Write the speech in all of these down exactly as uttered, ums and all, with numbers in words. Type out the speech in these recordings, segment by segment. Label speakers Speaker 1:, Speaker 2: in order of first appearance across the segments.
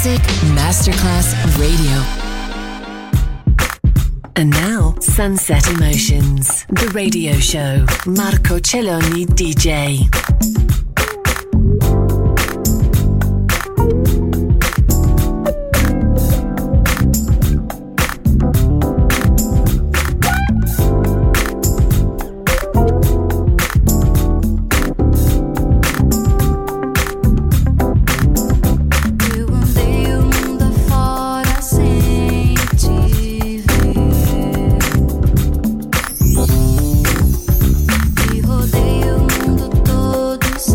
Speaker 1: Music Masterclass Radio. And now, Sunset Emotions, the radio show. Marco Celloni D J.
Speaker 2: Rodei o mundo todo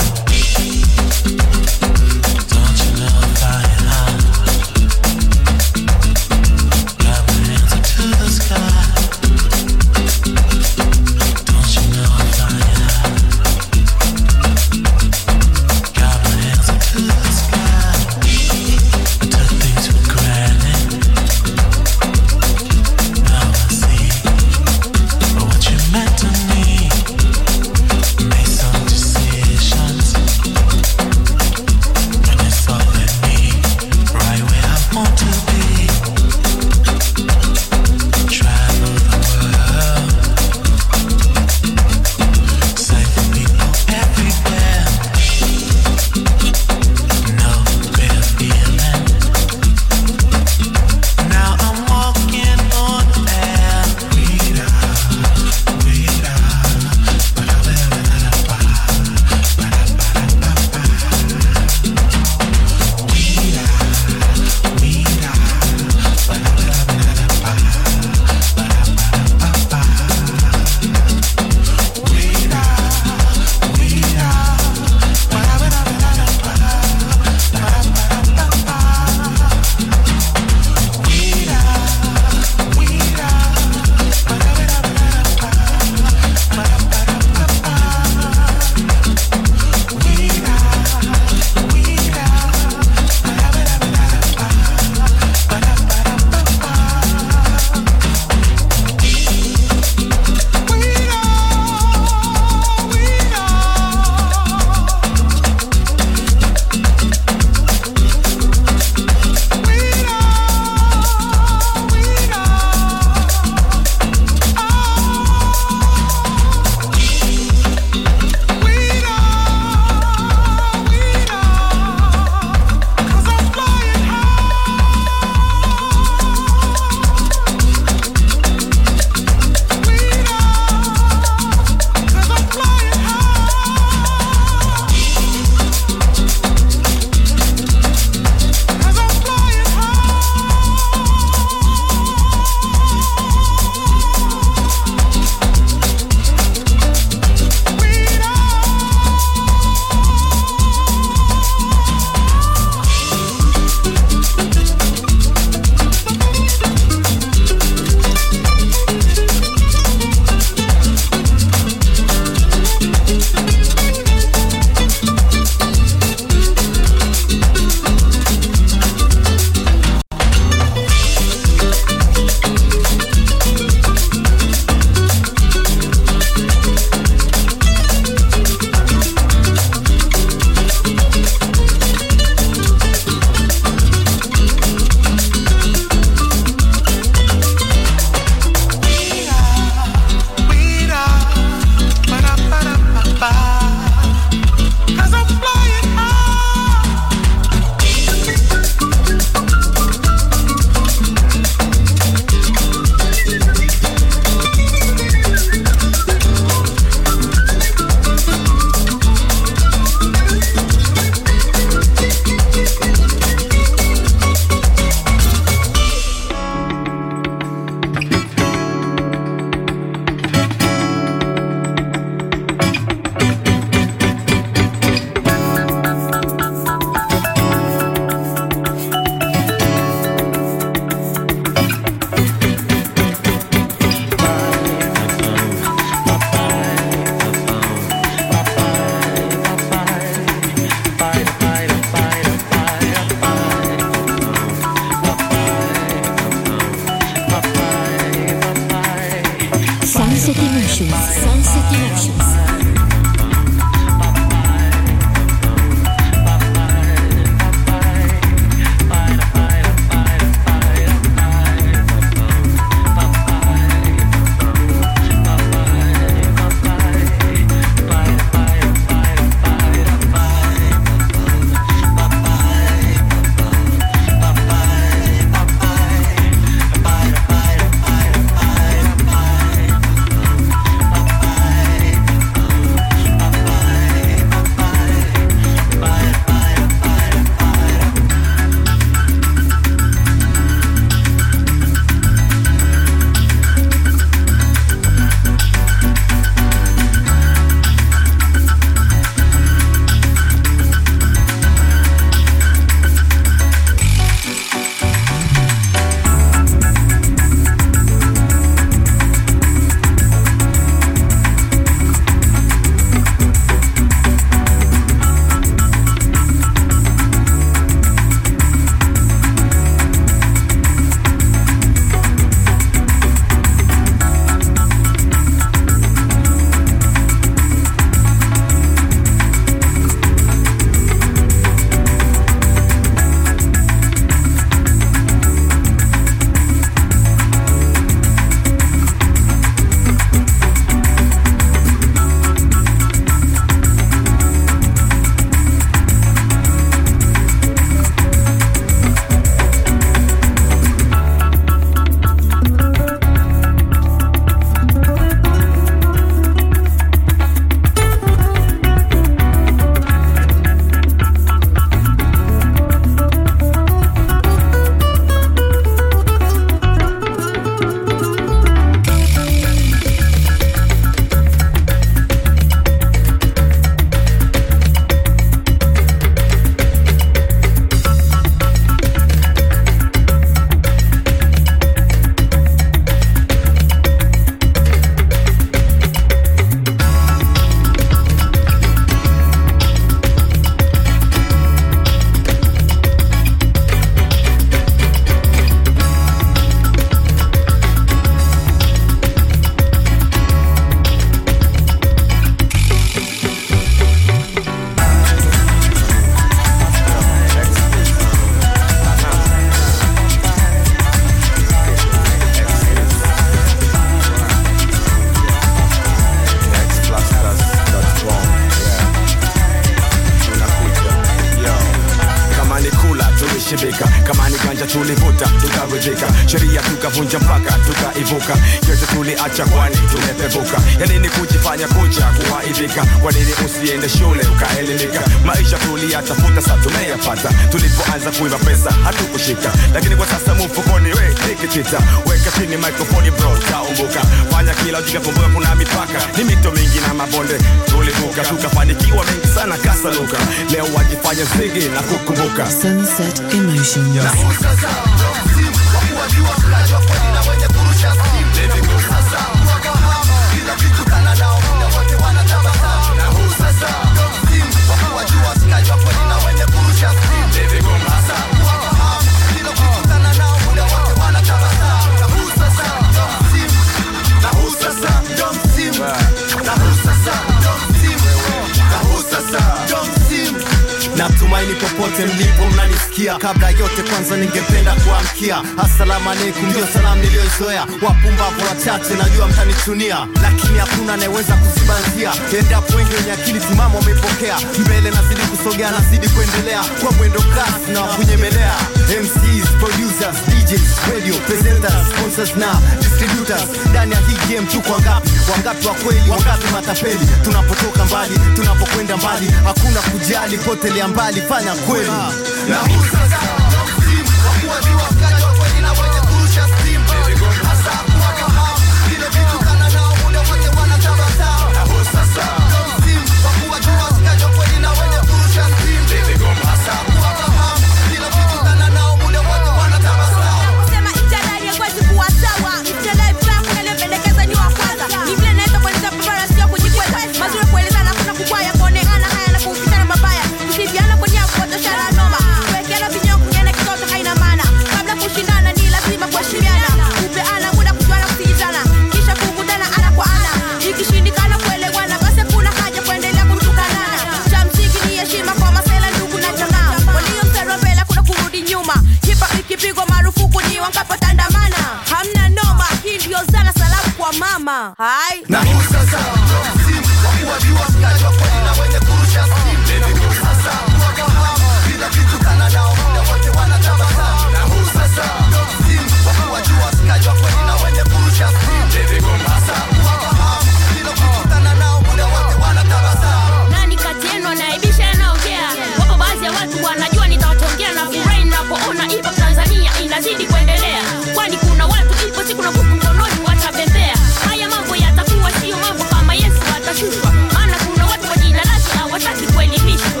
Speaker 2: tulivuta tukaridhika, sheria tukavunja mpaka tukaivuka, yote tuliacha kwani tumepevuka. Ya nini kujifanya kucha kuwaidhika, kwa nini usiende shule ukaelimika? Maisha tuliyatafuta sasa tumeyapata, tulipoanza kuiba pesa hatukushika, lakini kwa sasa mfukoni we nikitita. Weka chini microphone bro taumbuka, fanya kila ujika kumbuka kuna mipaka, ni mito mingi na mabonde tulivuka, tukafanikiwa mengi sana kasaluka, leo wajifanya zigi na kukumbuka.
Speaker 1: Sunset Emotions.
Speaker 3: Na usasa Sim, wakuwajua kulajwa kweli na wenye kurusha Sim. Na usasa wakahamu, kila kitu kana nao muda wote wanatabasamu. Na usasa Sim, wakuwajua kulajwa kweli na wenye kurusha Sim. Na usasa wakahamu, kila kitu kana nao muda wote wanatabasamu. Na usasa Sim, na usasa Sim, na usasa Sim, na usasa Sim. Natumaini popote mlipo mnanisikia. Kabla yote kwanza ningependa kuamkia assalamu alaikum, ndio salamu niliyoizoea. Wapumbavu wachache najua mtanitunia, lakini hakuna anayeweza kuzibanzia. Endapo wengi wenye akili timamu wamepokea, mbele nazidi kusogea, nazidi kuendelea kwa mwendo kasi na kunyemelea. M Cs, producers, D Js, radio presenters, sponsors na distributors. Ndani ya hii game tuko wangapi? Wangapi wa kweli, wangapi matapeli? Tunapotoka mbali, tunapokwenda mbali, hakuna kujali, potelea mbali, fanya kweli. Na usasa Sim, wakuwajua mkaja kweli na wenye kurusha Sim. Hasa wakahamu, kile vitu kana nao muda wote wanatabasamu. Na usasa Sim, wakuwajua mkaja kweli na wenye kurusha Sim. Hasa wakahamu, kile vitu kana nao muda wote wanatabasamu.
Speaker 4: Kusema italai ya kwezi kuwa sawa, italai pia kunelependekeza ni wa kwanza. Ni vile naeza kueleza pabara sio kujikweza, mazuri kueleza na kuna kukwaya kuonekana haya na kufikana mabaya. Kusiviana kwa nia kuotosha la noma, kuwekeana vinyo kungene kitoto haina maana. Kabla kushindana ni lazima kuheshimiana, kupeana muda kujuana kusikizana, kisha kukutana ana kwa ana. Ikishindikana kuelewana basi kuna haja kuendelea kutukanana. Cha msingi ni heshima kwa masela ndugu na jamaa, walio mstari wa mbele kuna kurudi nyuma. Hipa ikipigwa marufuku ni wankapotandamana, hamna noma, hii ndio zana salamu kwa mama. Hai
Speaker 3: na usasa Sim, wakuwajua mkaja kweli na wenye kurusha Sim. Sasa wakahamu, kila kitu kana nao muda wote wanatabasamu. Na usasa Sim, wakuwajua mkaja kweli na wenye kurusha Sim. Sasa wakahamu, kila kitu kana nao muda wote wanatabasamu.
Speaker 5: Nani kati yenu anaibisha anaongea? Wapo baadhi ya watu wanajua nitawatongea na furahi ninapoona ipo Tanzania inazidi kuendelea. Kwani kuna watu ipo siku na kuku mkononi watabembea. Haya mambo yatakuwa sio mambo kama Yesu atashushwa. Maana kuna watu kwa jina lake hawataki kuelimishwa.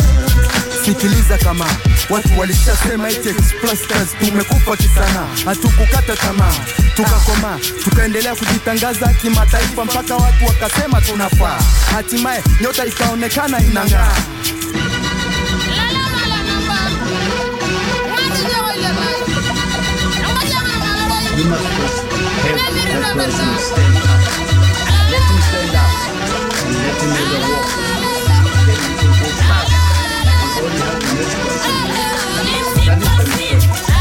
Speaker 6: Sikiliza kama watu walishasema eti Explasters tumekufa kisana, hatukukata tamaa, tukakoma, tukaendelea kujitangaza kimataifa mpaka watu wakasema tunafaa. Hatimaye nyota ikaonekana inang'aa.
Speaker 7: You must help that person stand up. Let him stand up and let him make a walk. Then you can go back and only help the next person. That is the mistake.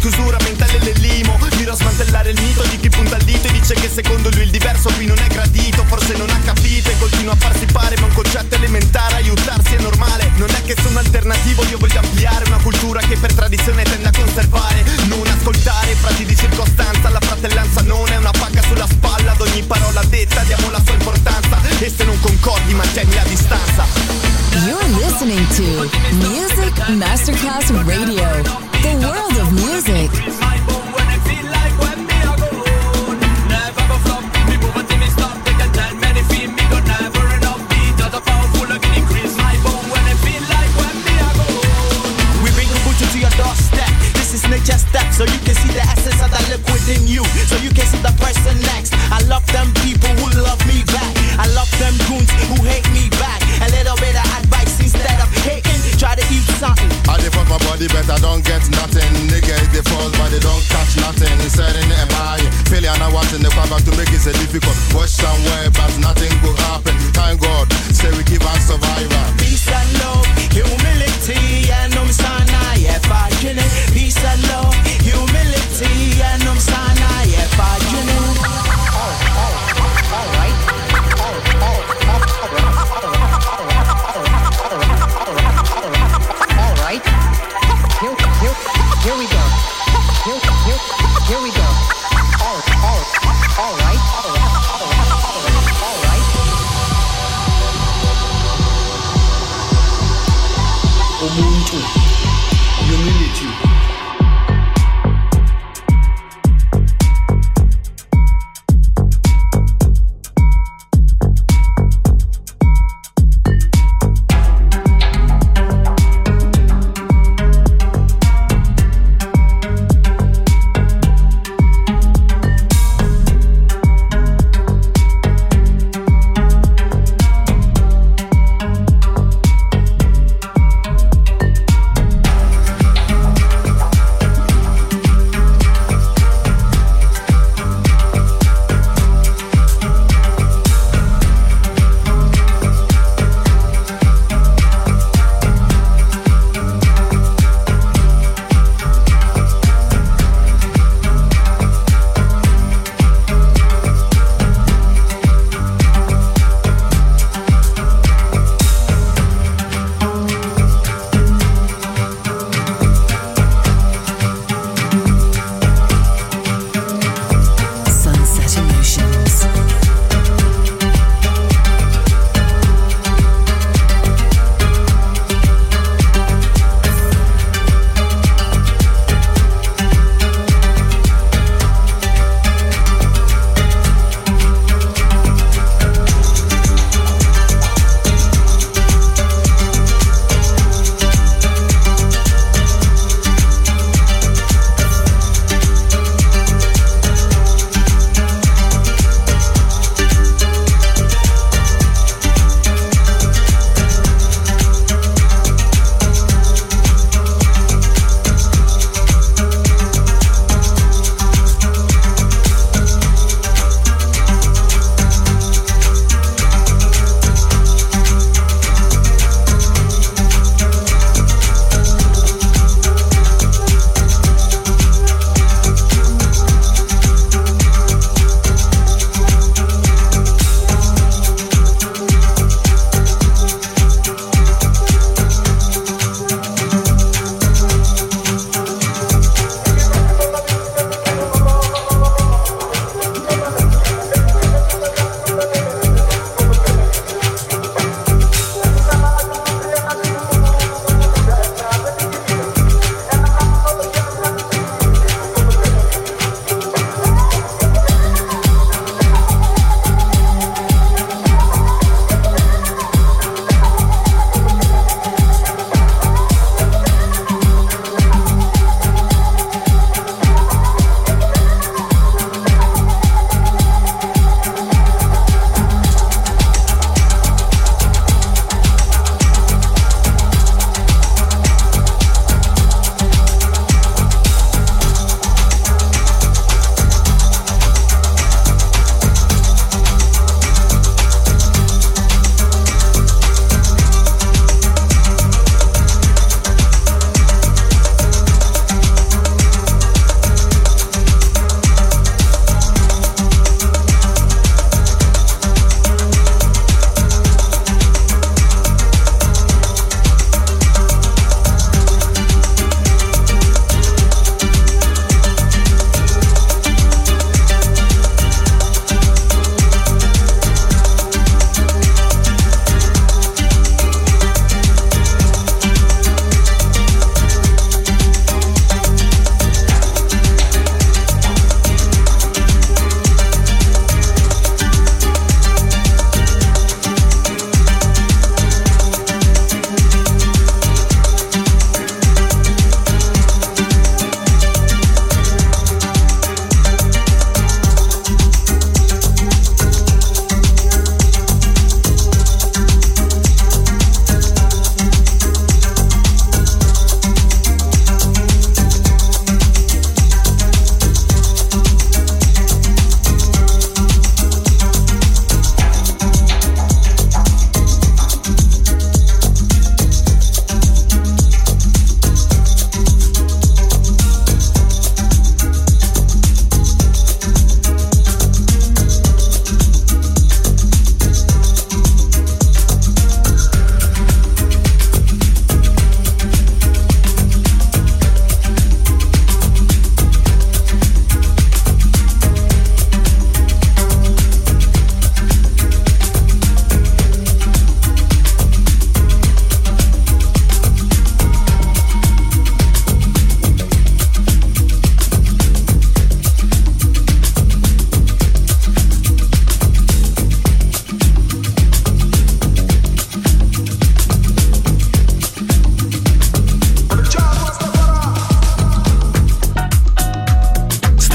Speaker 8: chiusura mentale le limo. Miro a smantellare il mito di chi punta il dito e dice che secondo lui il diverso qui non è gradito. Forse non ha capito e continua a farsi pare, ma un concetto elementare, aiutarsi è normale. Non è che sono alternativo, io voglio ampliare una cultura che per tradizione tende a conservare. Non ascoltare frasi di circostanza, la fratellanza non è una pacca sulla spalla. Ad ogni parola detta diamo la sua importanza e se non concordi mantieni la distanza.
Speaker 1: You're listening to Music Masterclass Radio, the world of music.
Speaker 8: Just step so you can see the essence of that liquid in you, so you can see the person next. I love them people who love me back. I love them goons who hate me back. A little bit of advice instead of hating. Try to eat something.
Speaker 9: I dey fuck my body but I don't get nothing. Niggas they fall but they don't catch nothing. Selling it and buying, failing and wanting the crowd back to make it so difficult. Watch somewhere but nothing will happen. Thank God, say we give us survivor.
Speaker 8: Peace and love, humility, and I'm sana, yeah, fighting it. Peace and love, humility, and I'm sana, yeah, fighting it.
Speaker 10: All right. All right. Here, here, here we go. Here, here, here we go. All, all, all right. All right. All right.
Speaker 7: Ubuntu, humility,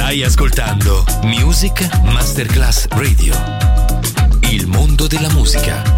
Speaker 11: Stai ascoltando Music Masterclass Radio. Il mondo della musica.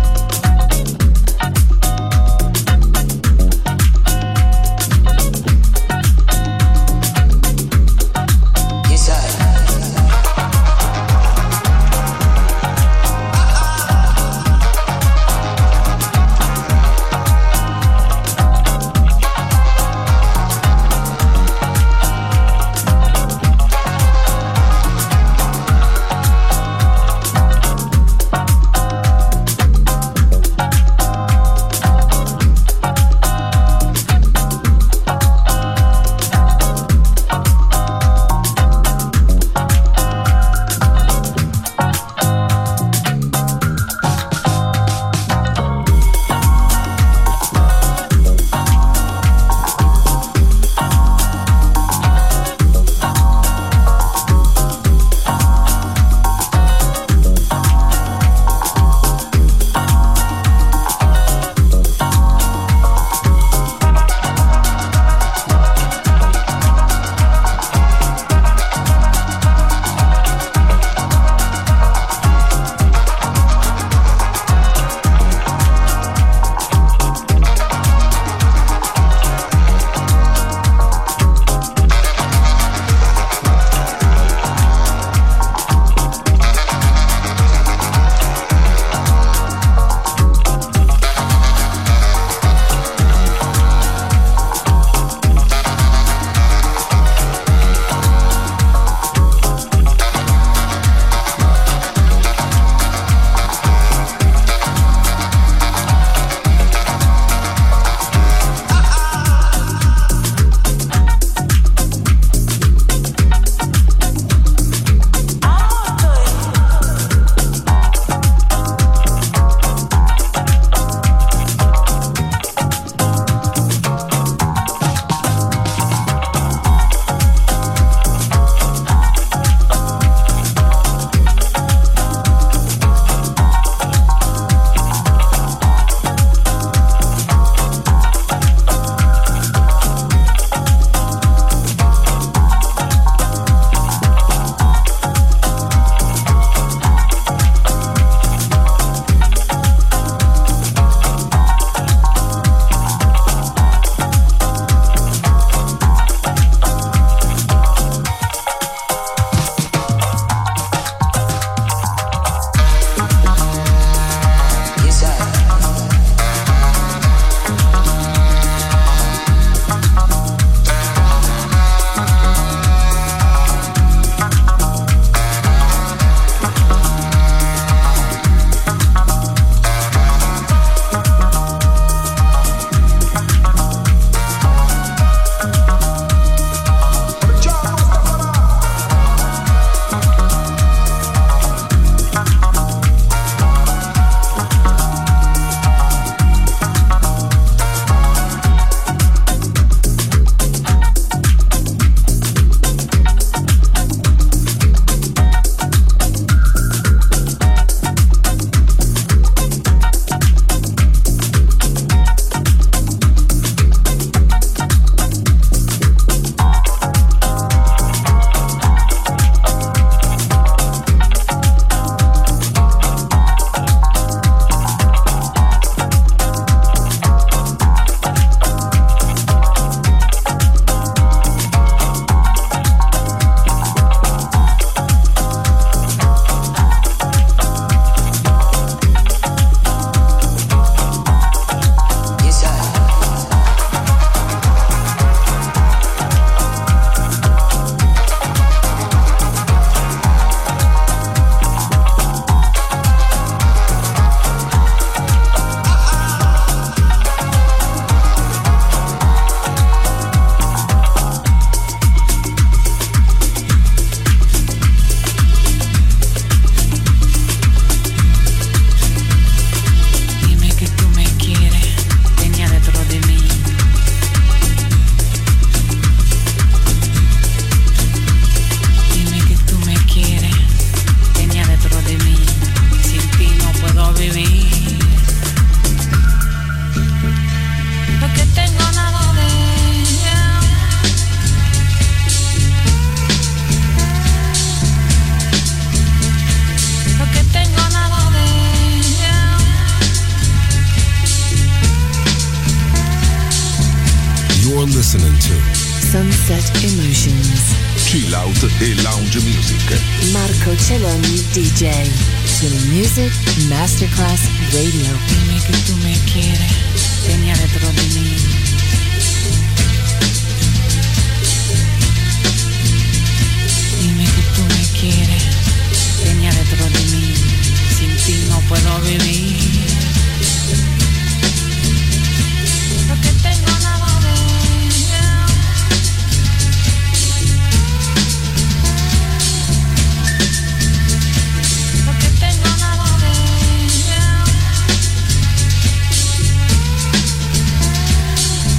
Speaker 1: Emotions.
Speaker 12: Chill out e lounge music.
Speaker 1: Marco Celloni D J. Chili Music Masterclass Radio.
Speaker 13: Dime que tú me quieres, ven adentro de mí. Dime que tú me quieres, ven adentro de mí. Sin ti no puedo vivir. Porque tengo nada de ella. Porque tengo nada de ella.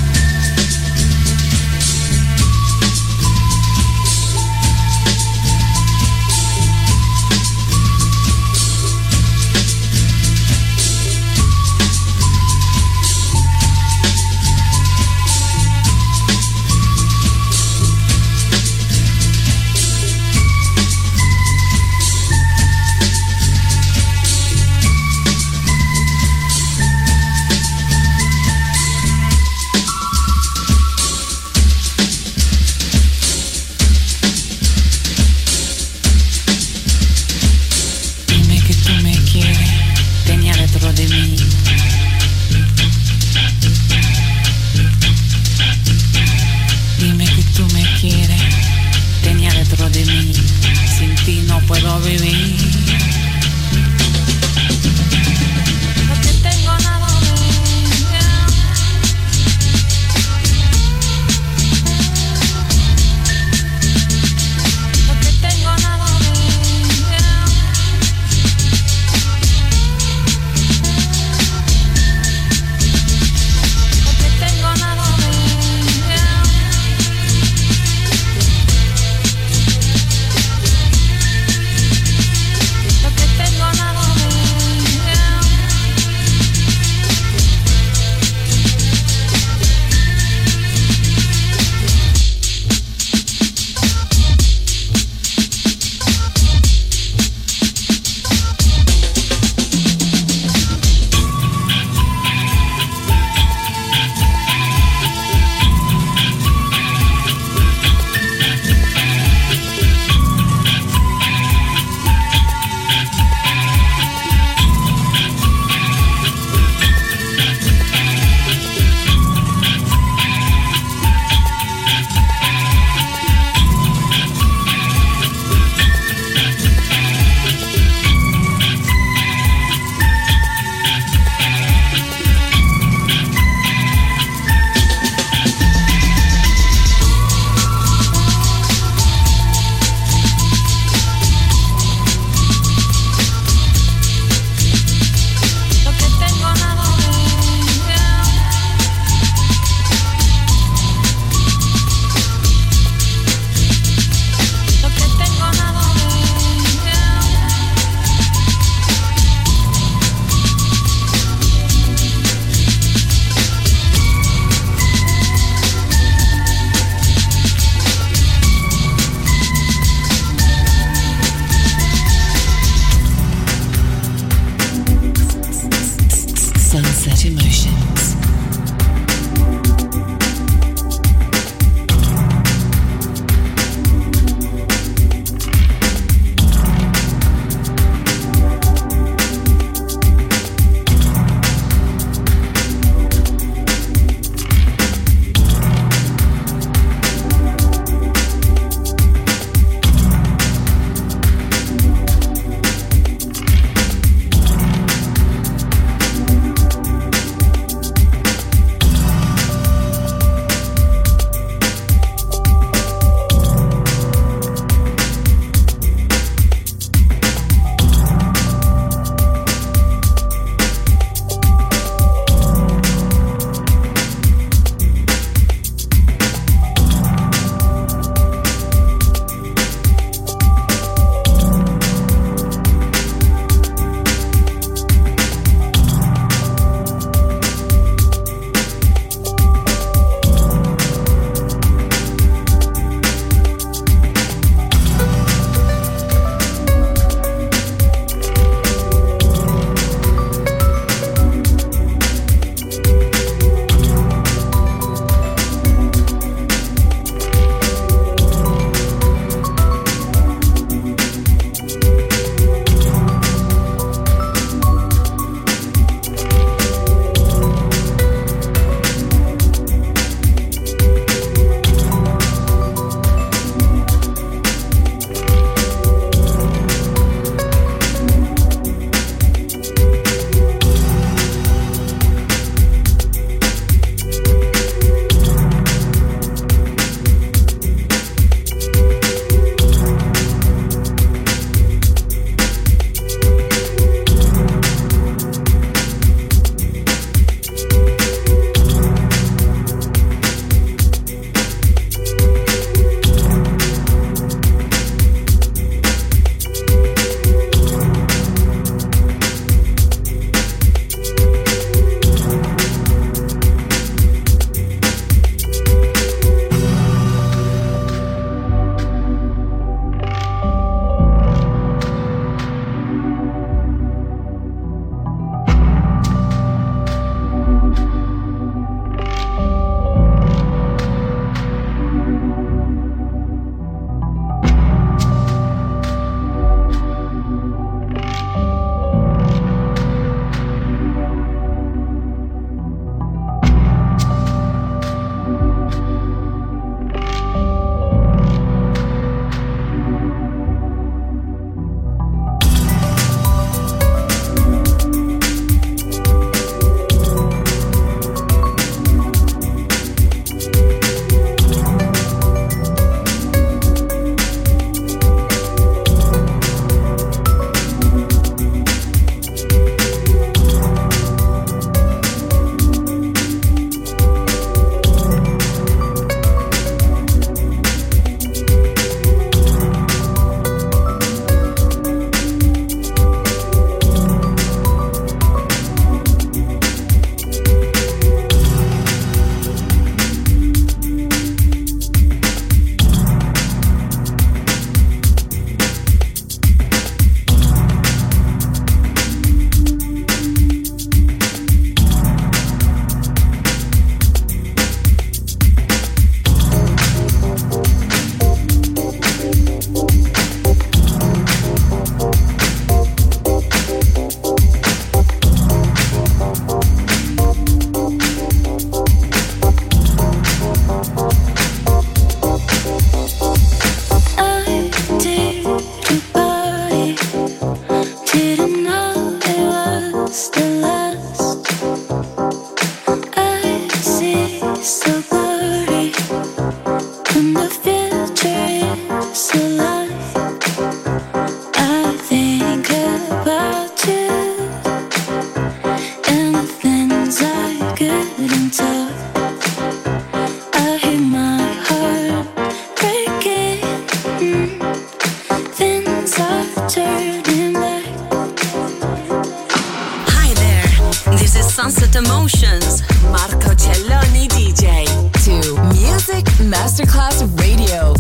Speaker 1: Sunset Emotions, Marco Celloni D J, to Music Masterclass Radio.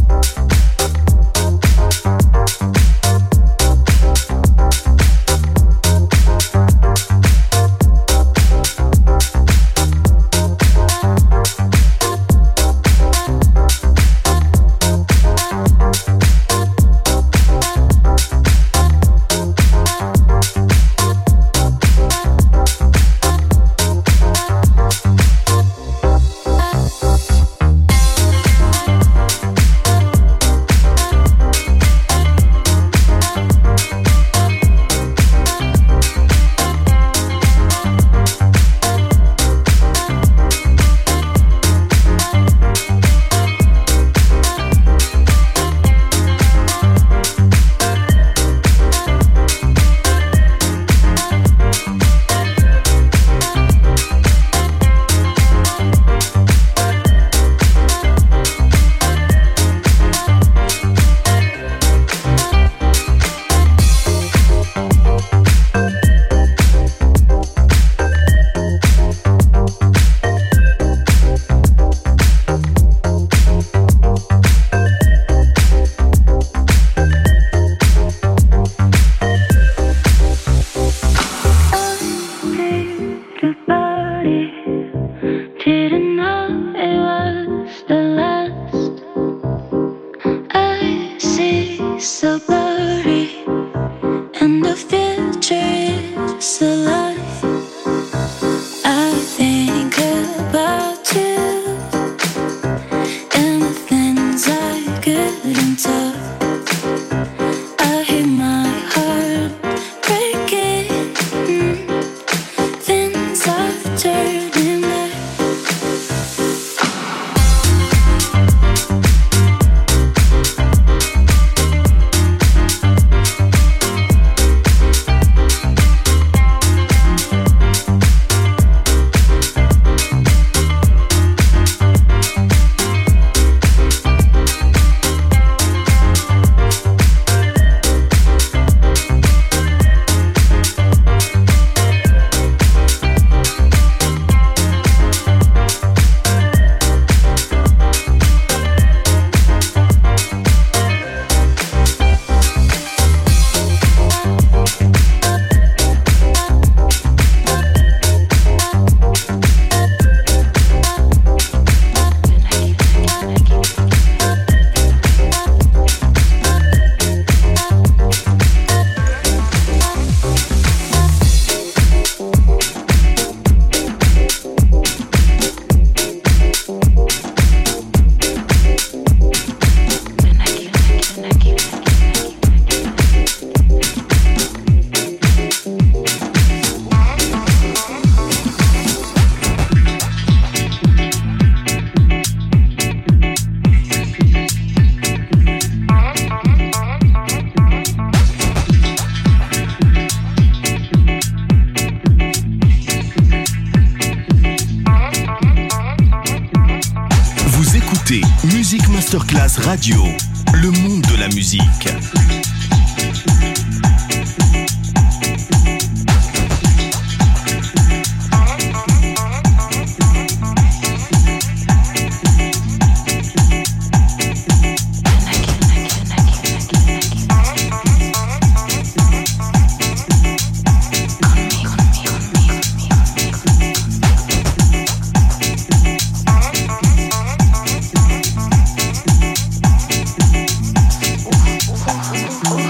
Speaker 8: Music Masterclass Radio, le monde de la musique.
Speaker 14: Ooh.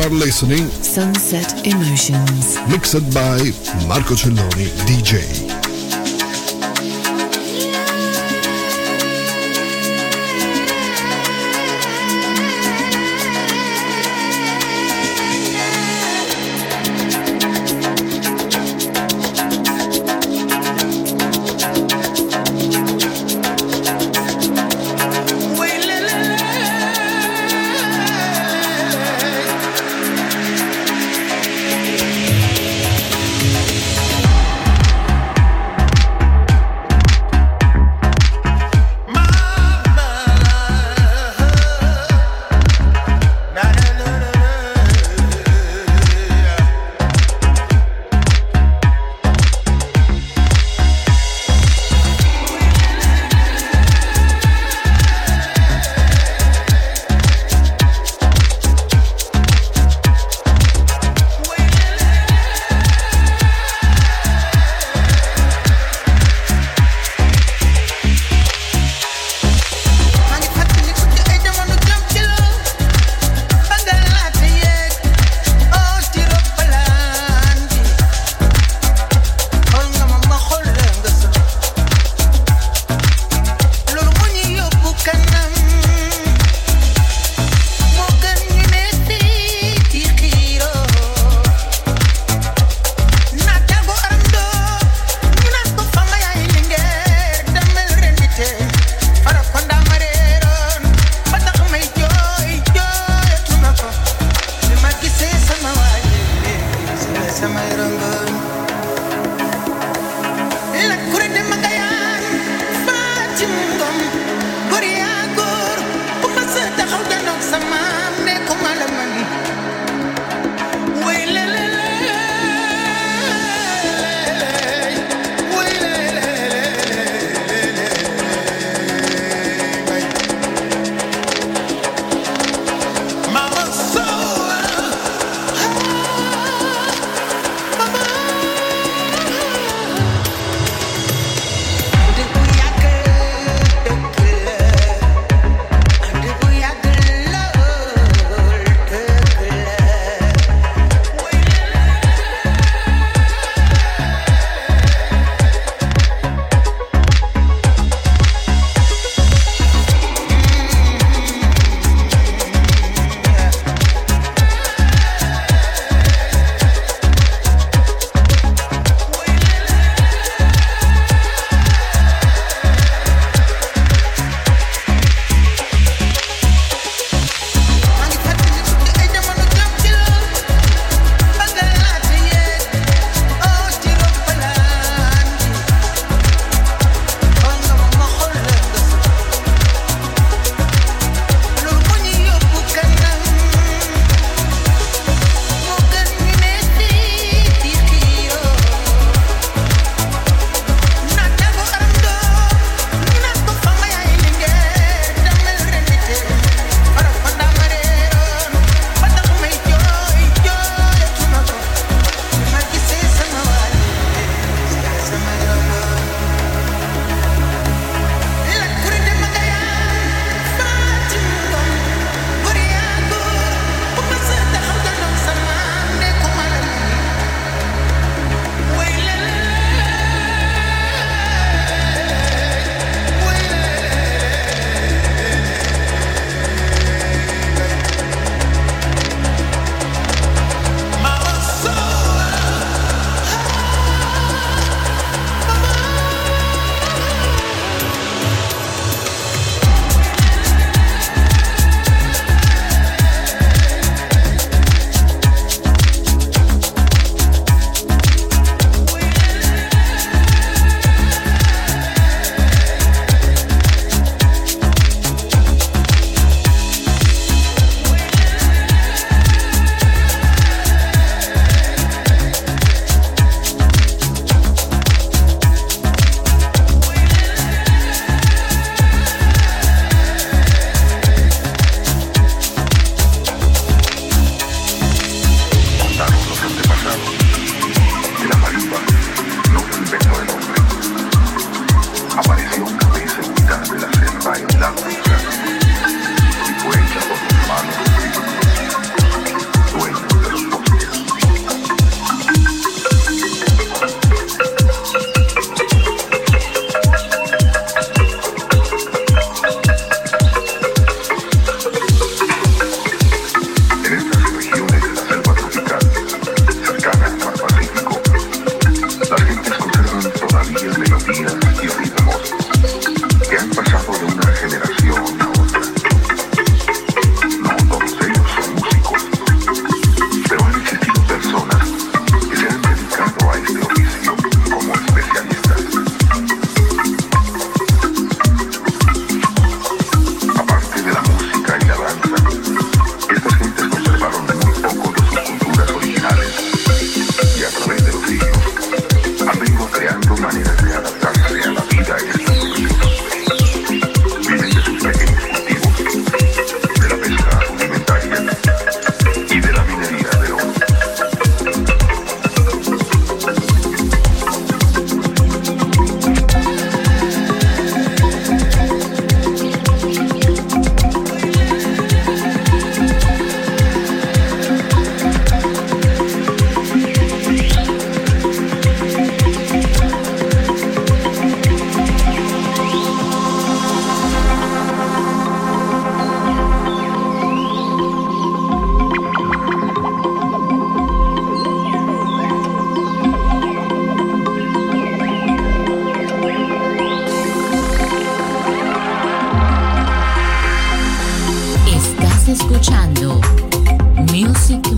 Speaker 12: are listening
Speaker 1: Sunset Emotions,
Speaker 12: mixed by Marco Celloni D J.
Speaker 3: Mama,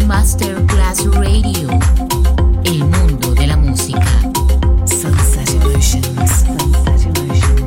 Speaker 14: Masterclass Radio, el mundo de la música.
Speaker 1: Sunset Emotions. Sunset Emotions.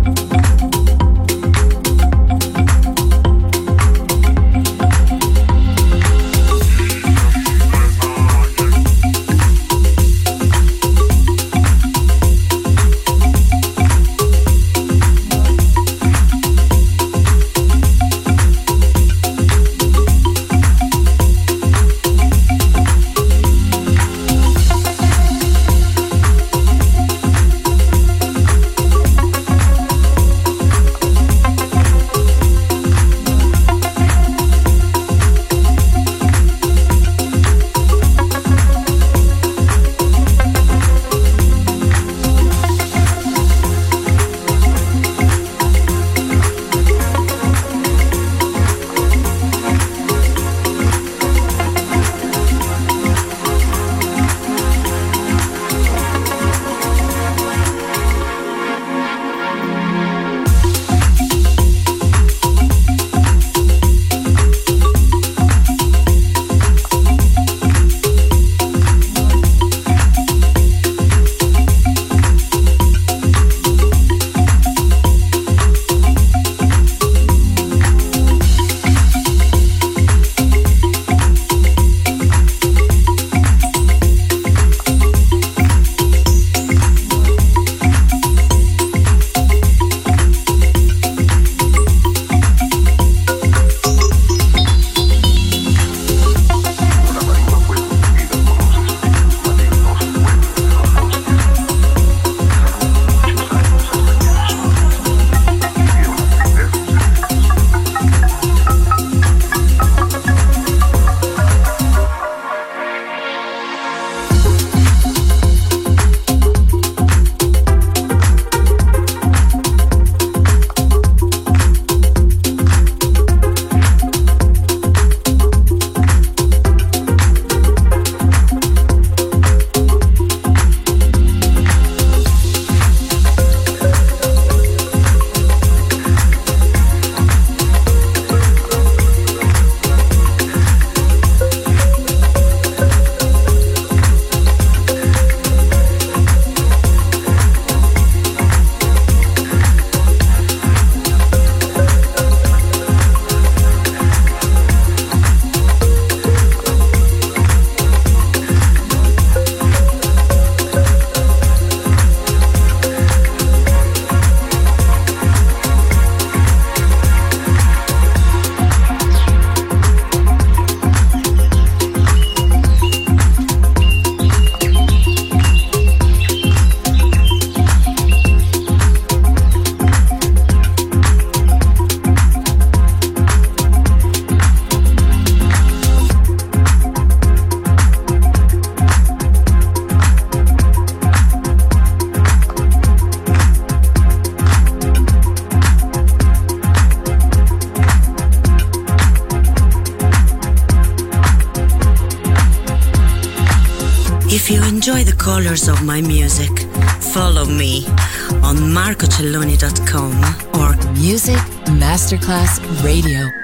Speaker 15: If you enjoy the colors of my music, follow me on marco celloni dot com or
Speaker 1: Music Masterclass Radio.